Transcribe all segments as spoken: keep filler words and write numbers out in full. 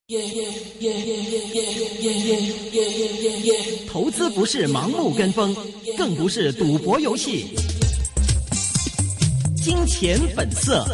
投资不是盲目跟风，更不是赌博游戏。金钱本色。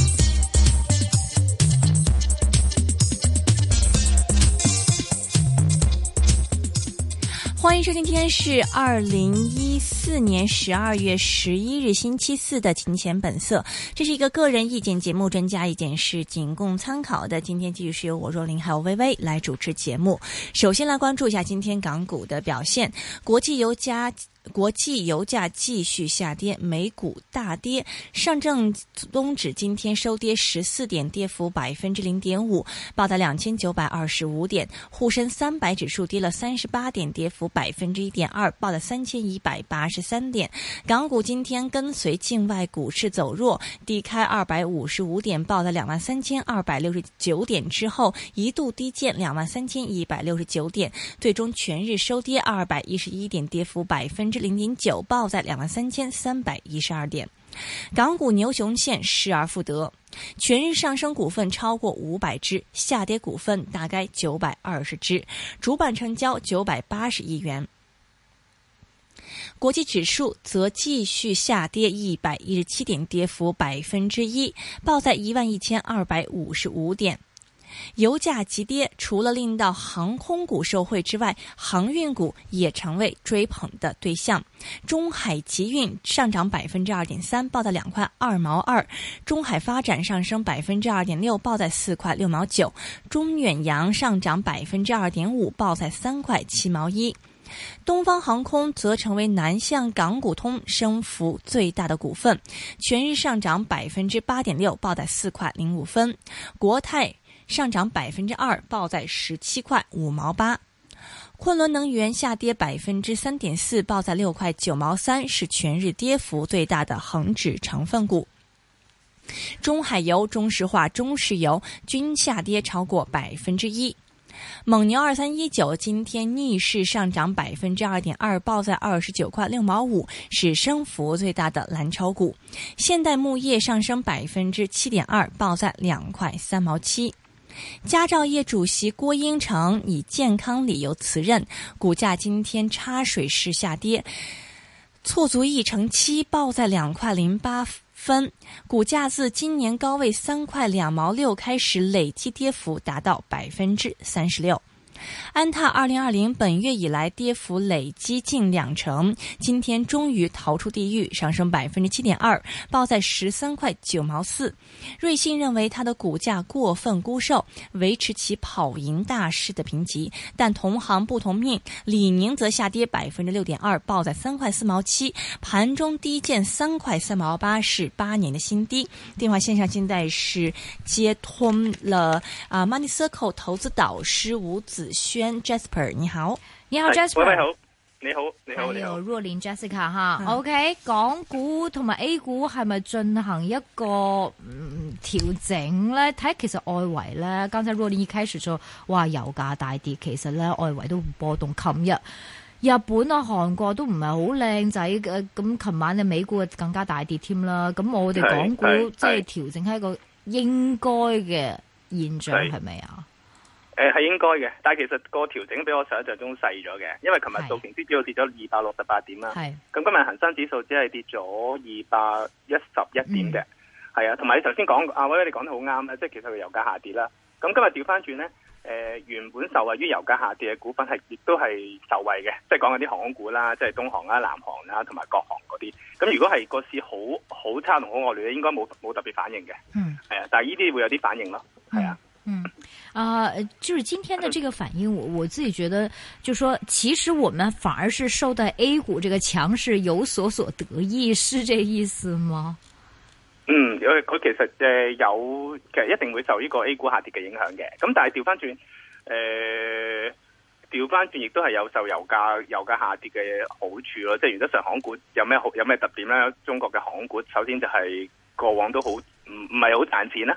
欢迎收听，今天是二零一四年十二月十一日星期四的金钱本色，这是一个个人意见节目，专家意见是仅供参考的。今天继续是由我若琳还有微微来主持节目。首先来关注一下今天港股的表现，国际油价国际油价继续下跌，美股大跌，上证综指今天收跌十四点，跌幅百分之零点五，报在两千九百二十五点。沪深三百指数跌了三十八点，跌幅百分之一点二，报在三千一百八十三点。港股今天跟随境外股市走弱，低开二百五十五点，报在两万三千二百六十九点之后，一度低见两万三千一百六十九点，最终全日收跌二百一十一点，跌幅百分之零点九，报在两万三千三百一十二点。港股牛熊线失而复得，全日上升股份超过五百只，下跌股份大概九百二十只，主板成交九百八十亿元。国际指数则继续下跌一百一十七点，跌幅百分之一，报在一万一千二百五十五点。油价急跌，除了令到航空股受惠之外，航运股也成为追捧的对象。中海集运上涨百分之二点三，报在两块二毛二；中海发展上升百分之二点六，报在四块六毛九；中远洋上涨百分之二点五，报在三块七毛一。东方航空则成为南向港股通升幅最大的股份，全日上涨百分之八点六，报在四块零五分。国泰上涨百分之二，报在十七块五毛八。昆仑能源下跌百分之三点四，报在六块九毛三，是全日跌幅最大的恒指成分股。中海油、中石化、中石油均下跌超过百分之一。蒙牛二三一九今天逆势上涨百分之二点二，报在二十九块六毛五，是升幅最大的蓝筹股。现代牧业上升百分之七点二，报在两块三毛七。佳兆业主席郭英成以健康理由辞任，股价今天插水式下跌，挫足一成七，报在两块零八分，股价自今年高位三块两毛六开始，累计跌幅达到百分之三十六。安踏二零二零本月以来跌幅累积近两成，今天终于逃出地狱，上升百分之七点二，报在十三块九毛四。瑞信认为它的股价过分估售，维持其跑赢大势的评级，但同行不同命，李宁则下跌百分之六点二，报在三块四毛七，盘中低见三块三毛八，是八年的新低。电话线上现在是接通了啊、呃、Money Circle 投资导师吴子轩 Jasper， 你好， 你好 Jasper， 喂喂好，你好，你好， 你好，若琳 Jessica 哈、嗯、，OK， 港股同埋 A 股係咪進行一個嗯調整咧？睇其實外圍咧，剛才若琳一開始就話油價大跌，其實咧外圍都波動。琴日日本啊、韓國都唔係好靚仔嘅，咁琴晚嘅美股更加大跌添啦。咁我哋港股即係調整係一個應該嘅現象，係咪啊？ 誒係應該嘅，但係其實個調整比我想象中細咗嘅，因為琴日道瓊斯指數跌咗二百六十八點啦，咁今日恒生指數只係跌咗二百一十一點嘅，係、嗯、啊，同埋你頭先講阿威，你講得好啱啦，即係其實佢油價下跌啦，咁今日調翻轉咧，誒、呃、原本受惠於油價下跌嘅股份係亦都係受惠嘅，即係講緊啲航空股啦，即係東航啦、南航啦同埋國航嗰啲，咁如果係個市好好差同好惡劣咧，應該冇冇特別反應嘅，嗯，係啊，但係呢啲會有啲反應咯，係啊。 嗯，啊、呃，就是今天的這個反應，我我自己覺得，就說其實我們反而是受到 A 股這個強勢有所所得益，是這意思嗎？ 嗯，佢佢其實誒有，其實一定會受呢個 A 股下跌嘅影響嘅。咁但係調翻轉，誒調翻轉亦都係有受油價油價下跌嘅好處咯。即係原則上航空股有咩好有咩特點咧？中國嘅航空股首先就係過往都好唔唔係好賺錢啦。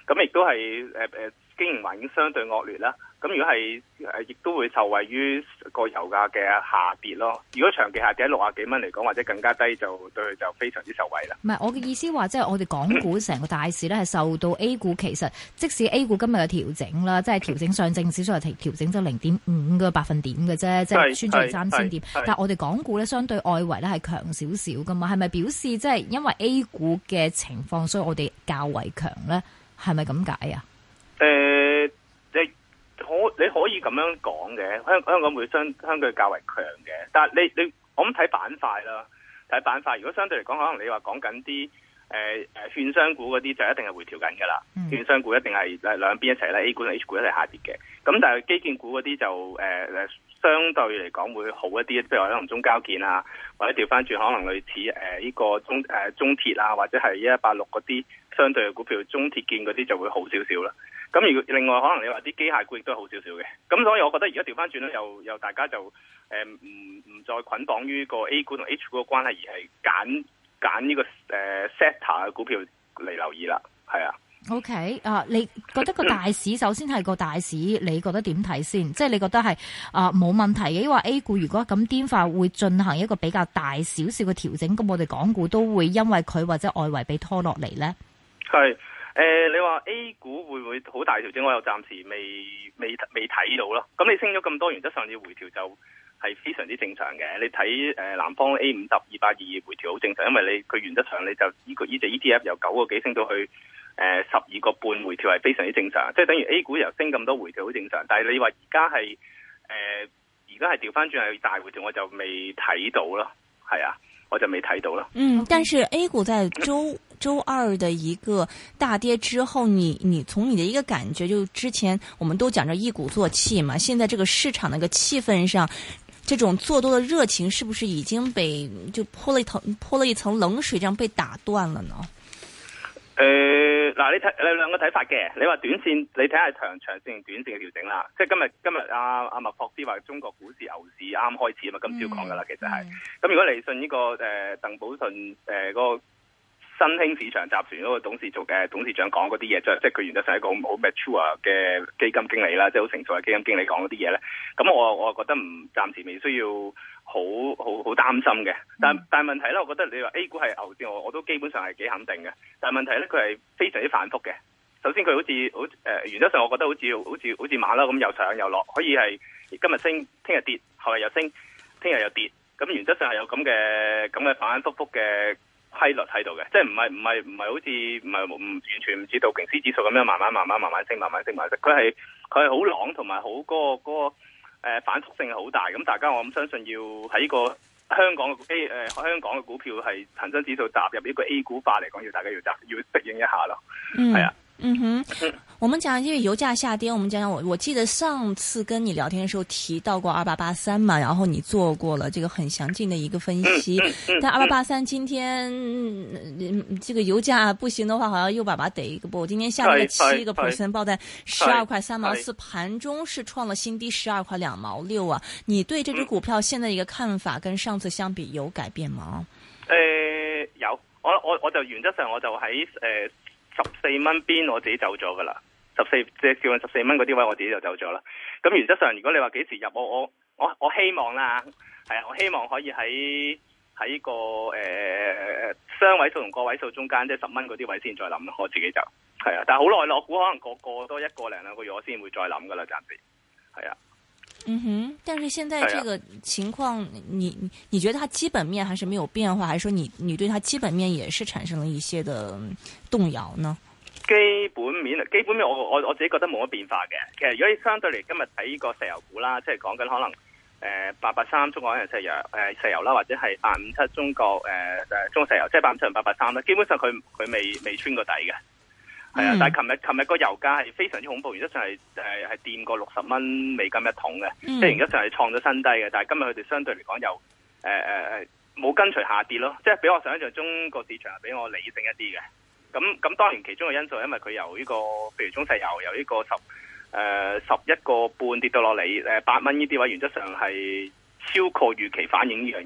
咁亦都係誒誒經營環境相對惡劣啦。咁如果係誒，亦都會受惠於個油價嘅下跌咯。如果長期下跌喺六啊幾蚊嚟講，或者更加低，就對佢就非常之受惠啦。 唔係，我嘅意思話，即係我哋港股成個大市咧，係受到 A 股其實即使 A 股今日嘅調整啦，即係調整上證指數係調整咗零點五個百分點嘅啫，即係穿咗三千點。但係我哋港股咧，相對外圍咧係強少少噶嘛，係咪表示即係因為 A 股嘅情況，所以我哋較為強咧？係咪咁解啊？ 誒、呃，你可你可以咁樣講嘅，香香港會相相對較為強嘅，但係你你我諗睇板塊啦，睇板塊。如果相對嚟講，可能你話講緊啲誒誒券商股嗰啲，就一定係回調緊噶啦。嗯、券商股一定係誒兩邊一齊啦 A 股同 H 股一齊下跌嘅。咁但係基建股嗰啲就誒誒、呃、相對嚟講會好一啲，譬如話可能中交建啊，或者調翻轉可能類似誒呢個中誒、呃、中鐵啊，或者係一一八六嗰啲相對嘅股票，中鐵建嗰啲就會好少少啦。咁如果另外可能你話啲機械股亦都係好少少嘅，咁所以我覺得而家調翻轉咧，又又大家就誒唔唔再捆綁於個 A 股同 H 股嘅關係，而係揀揀呢個誒 sector 嘅股票嚟留意啦，係啊。 OK 啊，你覺得個大市首先係個大市，你覺得點睇先？即係你覺得係啊冇問題嘅，因為 A 股如果咁癲化會進行一個比較大少少嘅調整，咁我哋港股都會因為佢或者外圍被拖落嚟咧？係。 誒、呃，你話 A 股會唔會好大調整？我又暫時未未未睇到咯。咁你升咗咁多，原則上要回調就係非常之正常嘅。你睇誒、呃、南方 A 五十二百二回調好正常，因為你佢原則上你就呢個呢隻 E T F 由九個幾升到去誒十二個半回調係非常之正常，即係等於 A 股由升咁多回調好正常。但係你話而家係誒而家係調翻轉係大回調，我就未睇到咯。係啊。我就沒睇到了。 嗯，但是 A 股在周周二的一個大跌之後，你你從你的一個感覺，就之前我們都講着一鼓作氣嘛，現在這個市場那個氣氛上，這種做多的熱情是不是已經被就潑了一層潑了一層冷水，這樣被打斷了呢？ 誒、呃，嗱，你睇你兩個睇法嘅，你話短線，你睇下長長線、短線嘅調整啦。即係今日今日阿阿麥霍斯話中國股市牛市啱開始啊嘛，今朝講噶啦，其實係。咁、嗯、如果嚟信呢個誒鄧寶順誒嗰個新興市場集團嗰個董事做嘅董事長講嗰啲嘢，即係即係佢原則上係一個好 mature 嘅基金經理啦，即係好成熟嘅基金經理講嗰啲嘢咧。咁我我覺得唔暫時未需要好好好擔心嘅。但但係問題咧，我覺得你話 A 股係牛市，我我都基本上係幾肯定嘅。但係問題咧，佢係非常之反覆嘅。首先佢好似好誒、呃，原則上我覺得好似好似好似馬騮咁又上又落，可以係今日升，聽日跌，後日又升，聽日又跌。咁原則上係有咁嘅咁嘅反反覆覆嘅規律喺度嘅，即係唔係唔係唔係好似唔係唔完全唔似道瓊斯指數咁樣慢慢慢慢慢慢升，慢慢升，慢慢升。佢係佢係好朗同埋好嗰個嗰、嗰個、呃、反覆性係好大。咁大家我諗相信要喺呢個香港嘅 A 誒、呃、香港嘅股票係恒生指數踏入呢個 A 股化嚟講，要大家要習要適應一下咯。係啊。 嗯哼，我們講因為油價下跌，我們講講我我記得上次跟你聊天的時候提到過二八八三嘛，然後你做過了這個很詳盡的一個分析。但二八八三今天、嗯、這個油價不行的話，好像又把把得一個波，今天下跌了七個 percent， 報在十二塊三毛四，盤中是創了新低十二塊兩毛六啊。你對這隻股票現在一個看法跟上次相比有改變嗎？ 誒、呃，有，我我我就原則上我就喺誒。呃十四蚊邊我自己走咗噶啦，十四即係叫緊十四蚊嗰啲位我自己就走咗啦。咁原則上，如果你話幾時入，我我我我希望啦，係啊，我希望可以喺喺個誒雙位數同個位數中間，即係十蚊嗰啲位先再諗咯。我自己就係啊，但係好耐咯，我估可能過過多一個零兩個月，我先會再諗噶啦，暫時係啊。 嗯哼，但是現在這個情況，你你覺得它基本面還是沒有變化，還是說你你對它基本面也是產生了一些的動搖呢？ 基本面基本面我我我自己覺得冇乜變化嘅。其實如果你相對嚟今日睇呢個石油股啦，即係講緊可能誒八八三中國海洋石油誒、呃、石油啦，或者係八五七中國誒誒、呃、中國石油，即係八五七同八八三啦，基本上佢佢未未穿過底嘅。係啊，但係琴日琴日個油價係非常之恐怖，原則上係誒係掂過六十蚊美金一桶嘅，即係原則上係創咗新低嘅。但係今日佢哋相對嚟講又誒誒誒冇跟隨下跌咯，即係比我想象中個市場係比我理性一啲嘅。咁咁當然其中嘅因素係因為佢由呢個譬如中石油由呢個十誒十一個半跌到落嚟誒八蚊呢啲位，原則上係超過預期反映呢樣嘢咯。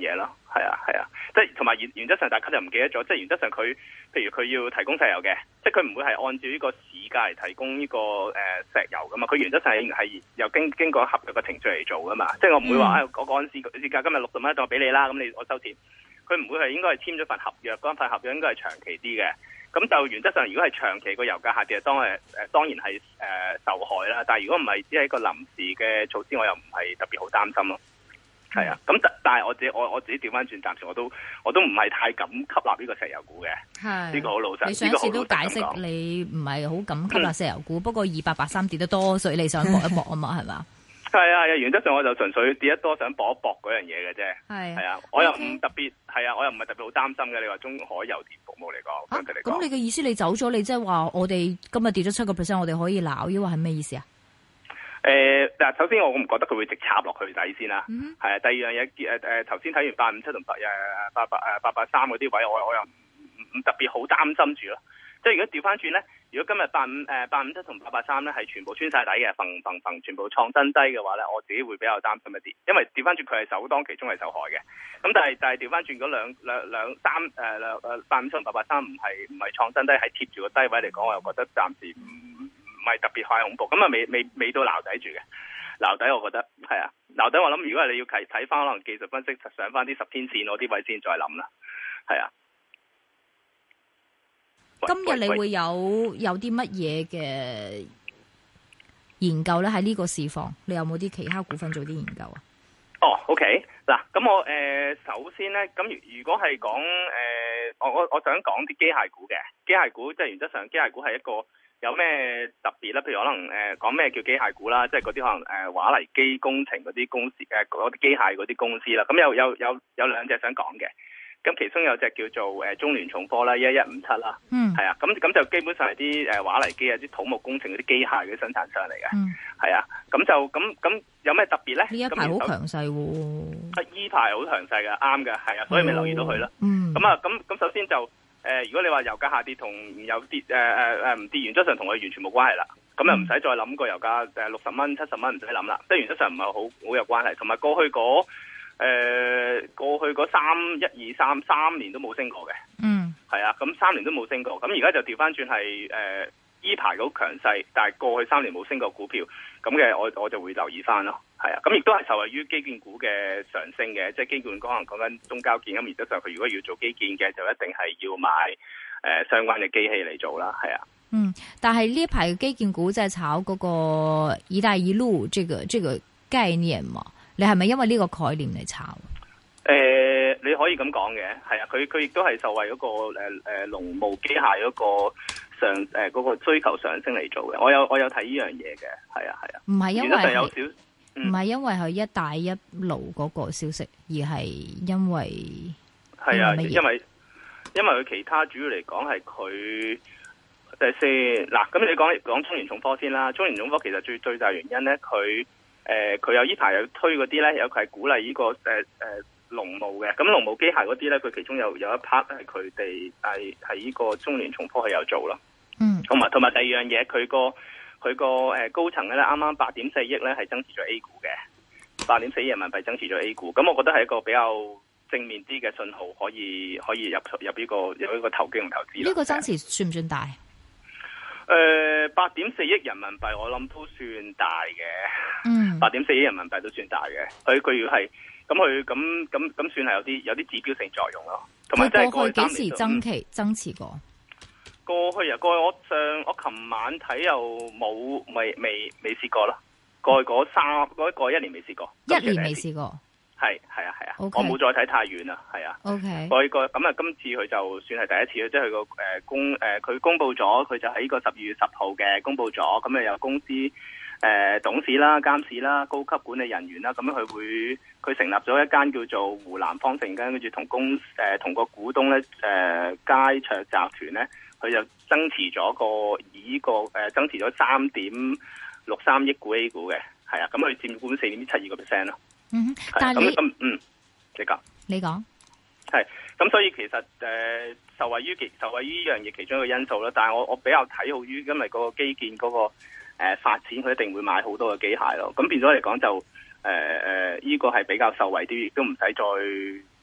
係啊係啊，即係同埋原原則上大家就唔記得咗，即係原則上佢譬如佢要提供石油嘅，即係佢唔會係按照呢個市價嚟提供呢、這個誒、呃、石油噶嘛，佢原則上係係由經經過合約嘅程序嚟做噶嘛，即係我唔會話誒我嗰陣時市價今日六十蚊一度俾你啦，咁你我收錢，佢唔會係應該係簽咗份合約，嗰份合約應該係長期啲嘅，咁就原則上如果係長期個油價下跌，當係誒、呃、當然係誒、呃、受害啦，但係如果唔係只係一個臨時嘅措施，我又唔係特別好擔心咯。係啊，咁但係我自己我我自己調翻轉，暫時我都我都唔係太敢吸納呢個石油股嘅。係呢個好老實。你上次都解釋你唔係好敢吸納石油股，嗯、不過二八八三跌得多，所以你想搏一搏啊嘛，係嘛？ 係啊，原則上我就純粹跌得多，想搏一搏嗰樣嘢嘅啫。係係啊，我又唔特別係啊，我又唔係特別好擔心嘅。你話中海油田服務嚟講，相對嚟講， 咁你嘅意思你走咗，你即係話我哋今日跌咗七個 percent，我哋可以鬧，抑或係咩意思啊？ 誒，嗱，首先我唔覺得佢會直插落去底先啦，係、mm-hmm. 啊。第二樣嘢，誒誒，頭先睇完八五七同八誒八八誒八八三嗰啲位，我我又唔唔特別好擔心住咯。即係如果調翻轉咧，如果今日八五誒八五七同八八三咧係全部穿晒底嘅，揈揈揈全部創新低嘅話咧，我自己會比較擔心一啲，因為調翻轉佢係首當其衝係受害嘅。咁但係但係調翻轉嗰兩兩兩三誒兩誒八五七同八八三唔係唔係創新低，係貼住個低位嚟講，我又覺得暫時唔。唔係特別太恐怖，咁啊未未未到撈底住嘅，撈底我覺得係啊，撈底我諗如果係你要睇睇翻可能技術分析上翻啲十天線嗰啲位先再諗啦，係啊。 今日你會有有啲乜嘢嘅研究咧？喺呢個市況，你有冇啲其他股份做啲研究啊？ 哦 ，OK，嗱，咁我誒、呃、首先咧，咁如如果係講誒，我我我想講啲機械股嘅機械股，即係原則上機械股係一個。有咩特別咧？譬如可能誒講咩叫機械股啦，即係嗰啲可能誒華麗機工程嗰啲公司誒嗰啲機械嗰啲公司啦。咁有有有有兩隻想講嘅，咁其中有隻叫做誒中聯重科啦，一一五七啦，嗯，係啊，咁咁就基本上係啲誒華麗機啊，啲土木工程嗰啲機械嘅生產商嚟嘅，嗯，係啊，咁就咁咁有咩特別咧？呢一排好強勢喎，呢排好強勢嘅，啱嘅，係啊，所以咪留意到佢咯，嗯，咁啊，咁咁首先就。誒、呃，如果你話油價下跌同有跌，誒誒誒唔跌，原則上同佢完全冇關係啦。咁又唔使再諗個油價誒六十蚊、七十蚊唔使諗啦。即係原則上唔係好好有關係。同埋過去嗰誒、呃、過去嗰三一二三三年都冇升過嘅。嗯，係啊，咁三年都冇升過。咁而家就調翻轉係誒依排好強勢，但係過去三年冇升過股票，咁嘅我我就會留意翻咯。係啊，咁亦都係受惠於基建股嘅上升嘅，即係基建可能講緊中交建咁，原則上佢如果要做基建嘅，就一定係要買誒、呃、相關嘅機器嚟做啦，係啊。 嗯，但係呢一排嘅基建股即係炒嗰個一帶一路，這個這個概念嘛，你係咪因為呢個概念嚟炒？誒、 呃，你可以咁講嘅，係啊，佢佢亦都係受惠嗰、那個誒誒農務機械嗰個上誒嗰、呃那個需求上升嚟做嘅。我有我有睇呢樣嘢嘅，係啊係啊，唔係因為有少。 唔係因為佢一帶一路嗰個消息，而係因為係啊，因為因為佢其他主要嚟講係佢第四嗱，咁你講講中聯重科先啦。中聯重科其實最最大原因咧，佢誒佢有呢排有推嗰啲咧，有佢係鼓勵呢、這個誒誒農務嘅。咁農務機械嗰啲咧，佢其中有有一 part 係佢哋係喺呢個中聯重科係有做咯。嗯，同埋同埋第二樣嘢，佢個。佢個誒高層咧，啱啱八點四億咧係增持咗 A 股嘅，八點四億人民幣增持咗 A 股，咁我覺得係一個比較正面啲嘅信號，可以可以入入呢、這個有一個投機同投資。呢、 這個增持算唔算大？ 誒、呃，八點四億人民幣我諗都算大嘅，嗯，八點四億人民幣都算大嘅。佢佢如果係咁，佢咁咁咁算係有啲有啲指標性作用咯。同埋即係過去幾時增期增持過？過去啊，過去我上我琴晚睇又冇，未未未試過咯。過去嗰三嗰個一年未試過， 一年未試過， 係係啊係啊，我冇再睇太遠啦，係啊。O K，過去個咁啊，今次佢就算係第一次，即係佢個誒公誒佢公布咗，佢就喺個十二月十號嘅公布咗，咁啊有公司誒、呃、董事啦、監事啦、高級管理人員啦，咁樣佢會佢成立咗一間叫做湖南方城間，跟住同公誒同個股東咧誒佳卓集團咧。佢就增持咗個以呢個誒增持咗三點六三億股 A 股嘅，係啊，咁佢佔股四點七二個 percent 咯。嗯，但係你咁嗯，你講你講係咁，所以其實誒、呃、受惠於其受惠於呢樣嘢其中一個因素啦。但係我我比較睇好於因為嗰個基建嗰、那個誒、呃、發展，佢一定會買好多嘅機械咯。咁變咗嚟講就誒誒呢個係比較受惠啲，亦都唔使再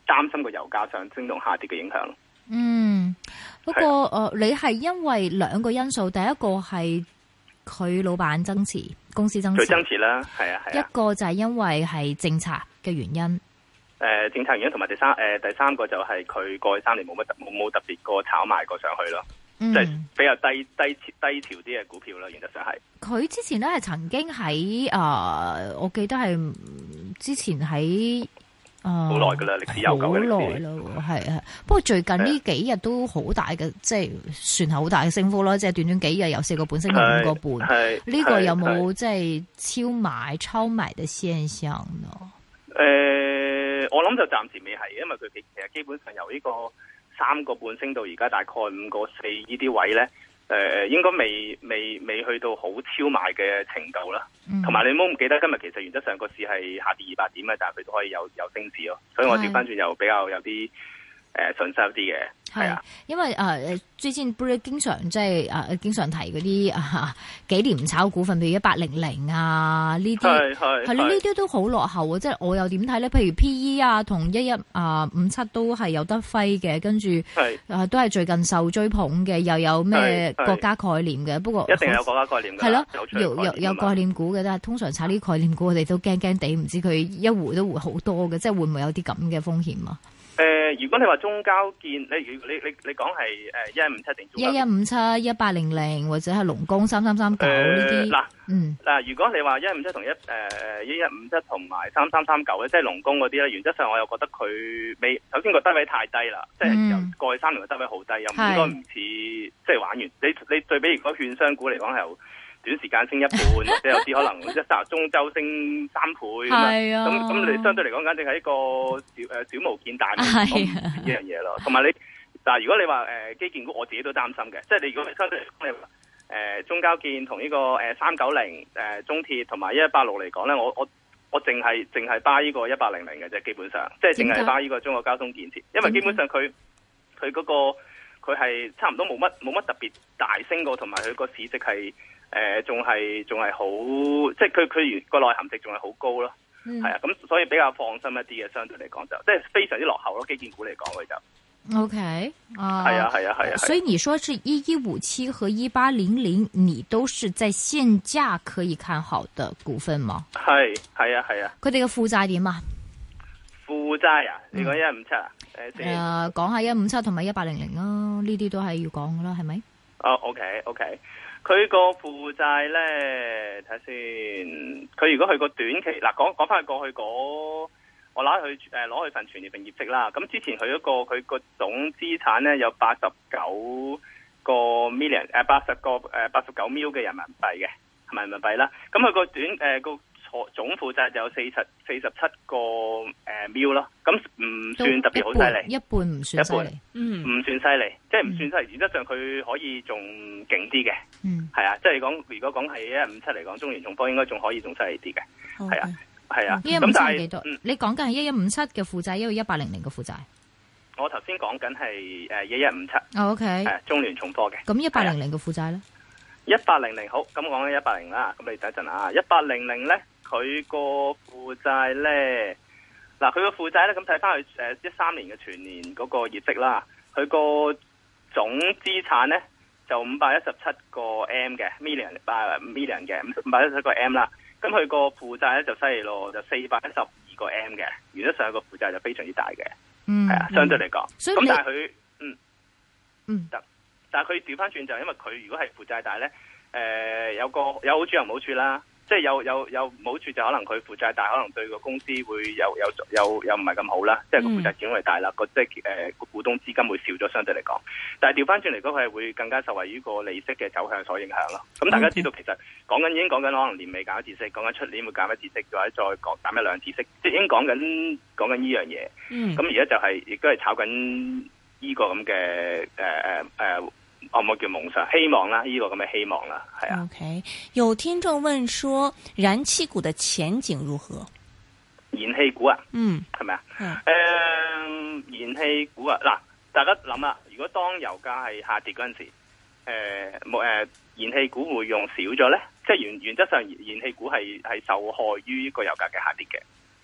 擔心個油價上升同下跌嘅影響。 嗯，不過誒、呃，你係因為兩個因素，第一個係佢老闆增持，公司增持， 佢增持啦，係啊係啊。 一個就係因為係政策嘅原因。誒、 呃，政策原因同埋第三誒、呃、第三個就係佢過去三年冇乜冇冇特別過炒賣過上去咯，即、嗯、係、就是、比較低低低潮啲嘅股票啦。原則上係佢之前咧係曾經喺誒、呃，我記得係之前喺。 好耐噶啦，歷史悠久嘅歷史。好耐咯，係啊。不過最近呢幾日都好大嘅，即係算係好大嘅升幅啦。即係短短幾日由四個半升到五個半。係呢、這個有冇即係超買超買嘅現象呢？ 誒、呃，我諗就暫時未係，因為佢其實基本上由呢個三個半升到而家大概五個四呢啲位咧。誒、呃，應該未未未去到好超賣嘅程度啦，同、嗯、埋你唔好唔記得今日其實原則上個市係下跌二百點嘅，但係佢都可以有有升市咯，所以我調翻轉又比較有啲誒信心啲嘅。係啊，因為誒、 呃、最近不是經常即係誒經常提嗰啲啊幾年唔炒股份，譬如一八零零啊呢啲，係係係呢啲都好落後啊！即係我又點睇咧？譬如 P E 啊同一一啊五七都係有得揮嘅，跟住誒、啊、都係最近受追捧嘅，又有咩國家概念嘅。不過一定有國家概念嘅，係咯，有有有概念股嘅，但係通常炒啲概念股，我哋都驚驚地，唔知佢一回都回好多嘅，即係會唔會有啲咁嘅風險啊？ 誒、呃，如果你話中交建，你你你你講係誒一一五七定中交建？一一五七、一八零零或者係龍工三三三九呢啲。嗱，嗯，嗱， 如果你話一一五七同一誒一一五七同埋三三三九咧，即係龍工嗰啲咧，原則上我又覺得佢未，首先個低位太低啦，即係由過去三年嘅低位好低，又唔應該唔似即係玩完。你你對比如果券商股嚟講係由短時間升一半，或者有啲可能一集中周升三倍咁啊，咁咁你相對嚟講，簡直係一個小誒小巫見大巫呢樣嘢咯。同埋你，但係如果你話誒基建股，我自己都擔心嘅，即係你如果相對嚟講，你話誒中交建同呢個誒三九零誒中鐵同埋一一八六嚟講咧，我我我淨係淨係 buy 呢個一八零零嘅啫，基本上即係淨係 buy 呢個中國交通建設，因為基本上佢佢嗰個佢係差唔多冇乜冇乜特別大升過，同埋佢個市值係。誒仲係仲係好，即係佢佢個內含值仲係好高咯，係、嗯、啊，咁所以比較放心一啲嘅，相對嚟講就即係非常之落後咯，基建股嚟講佢就 OK 啊， 係啊係啊係啊， 所以你說是一一五七和一八零零，你都是在現價可以看好的股份嗎？係係啊係啊， 佢哋嘅負債點啊？ 負債啊？你講一一五七啊？誒、 嗯，講下一五七同埋一八零零啦，呢啲都係要講噶啦，係咪？ 哦 OK OK。佢個負債咧，睇下先。佢如果去個短期，嗱講講翻去過去嗰，我攞佢誒攞佢份全年份業績啦。咁之前佢嗰個佢個總資產咧有八十九個 million，誒八十個誒八十九 mil 嘅人民幣嘅，係咪人民幣啦？咁佢個短誒個總負債就有四十四十七個誒 mil 咯。咁唔算特別好犀利， 一半唔算犀利， 嗯，唔算犀利，即係唔算犀利。原則上佢可以仲勁啲嘅。嗯，係啊，即係講如果講係一一五七嚟講，中原重科應該仲可以仲犀利啲嘅，係、okay. 啊，係啊。 一一五七係幾多？你講緊係一一五七嘅負債，因為一八零零嘅負債。 我頭先講緊係誒一一五七。 O K。 係中聯重科嘅。 咁一八零零嘅負債咧？ 一八零零好，咁講緊一八零啦。咁你等一陣啊，一八零零咧，佢個負債咧，嗱，佢個負債咧，咁睇翻佢誒一三年嘅全年嗰個業績啦，佢個總資產咧。就五百一十七個 M 嘅 million，啊 million 嘅五百一十七個 M 啦，咁佢個負債咧就犀利咯，就四百一十二個 M 嘅，原則上個負債就非常之大嘅，嗯，係啊，相對嚟講，咁但係佢，嗯，嗯，得，但係佢調翻轉就因為佢如果係負債大咧，誒、呃、有個有好處又唔好處啦。即係有有有唔好處就可能佢負債大，可能對個公司會有有有有唔係咁好啦。即係個負債始終係大啦，個即係誒個股東資金會少咗，相對嚟講。但係調翻轉嚟講，佢係會更加受惠於個利息嘅走向所影響咯。咁大家知道其實講緊已經講緊可能年尾減一次息，講緊出年會減一次息，或者再講減一兩次息，即係已經講緊講緊呢樣嘢。咁而家就係亦都係炒緊呢個咁嘅誒誒誒。我冇叫夢想，希望啦，呢、這個咁嘅希望啦，係啊。OK， 有聽眾問說，燃氣股的前景如何？ 燃氣股啊， 嗯， 係咪啊？誒、嗯，燃氣股啊，嗱，大家諗啦，如果當油價係下跌嗰陣時，誒冇誒，燃氣股會用少咗咧？即係原原則上，燃氣股係係受害於呢個油價嘅下跌嘅。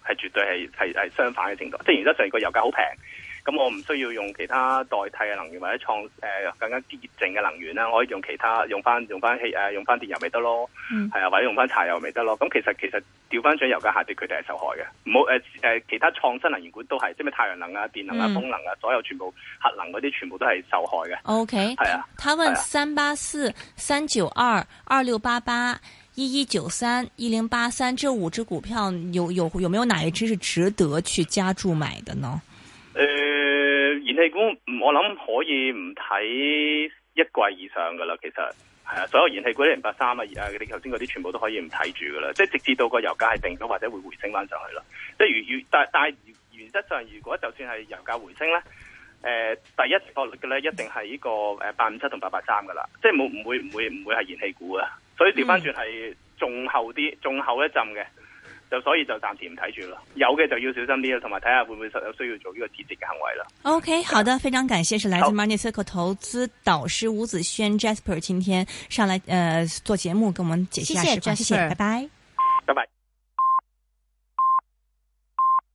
係絕對係係係相反嘅程度。即係原則上個油價好平。咁我唔需要用其他代替嘅能源或者創誒、呃、更加潔淨嘅能源啦，我可以用其他用翻用翻氣誒用翻電油咪得咯，係、嗯、啊，或者用翻柴油咪得咯。咁其實其實調翻轉油價下跌，佢哋係受害嘅。唔好誒誒其他創新能源股都係，即係太陽能啊、電能啊、風能啊，所有全部核能嗰啲全部都係受害嘅。 OK，係啊。他問三八四、三九二、二六八八、一一九三、一零八三這五隻股票有有有沒有哪一隻是值得去加注買的呢？ 誒、呃，燃氣股我諗可以唔睇一季以上噶啦，其實係啊，所有燃氣股一零八三啊，誒，你頭先嗰啲全部都可以唔睇住噶啦，即係直至到個油價係定咗或者會回升翻上去咯。即係如如但但係原則上，如果就算係油價回升咧，誒、呃，第一個嘅咧一定係呢個誒八五七同八八三噶啦，即係冇唔會唔會唔會係燃氣股啊，所以調翻轉係仲後啲，仲後一陣嘅。就所以就暫時唔睇住咯，有嘅就要小心啲啦，同埋睇下會唔會實有需要做呢個止蝕嘅行為啦。 OK， 好的，非常感謝，是來自 Money Circle 投資導師吳子軒 Jasper 今天上來呃做節目，跟我們解析下市況，謝謝，拜拜， 拜拜。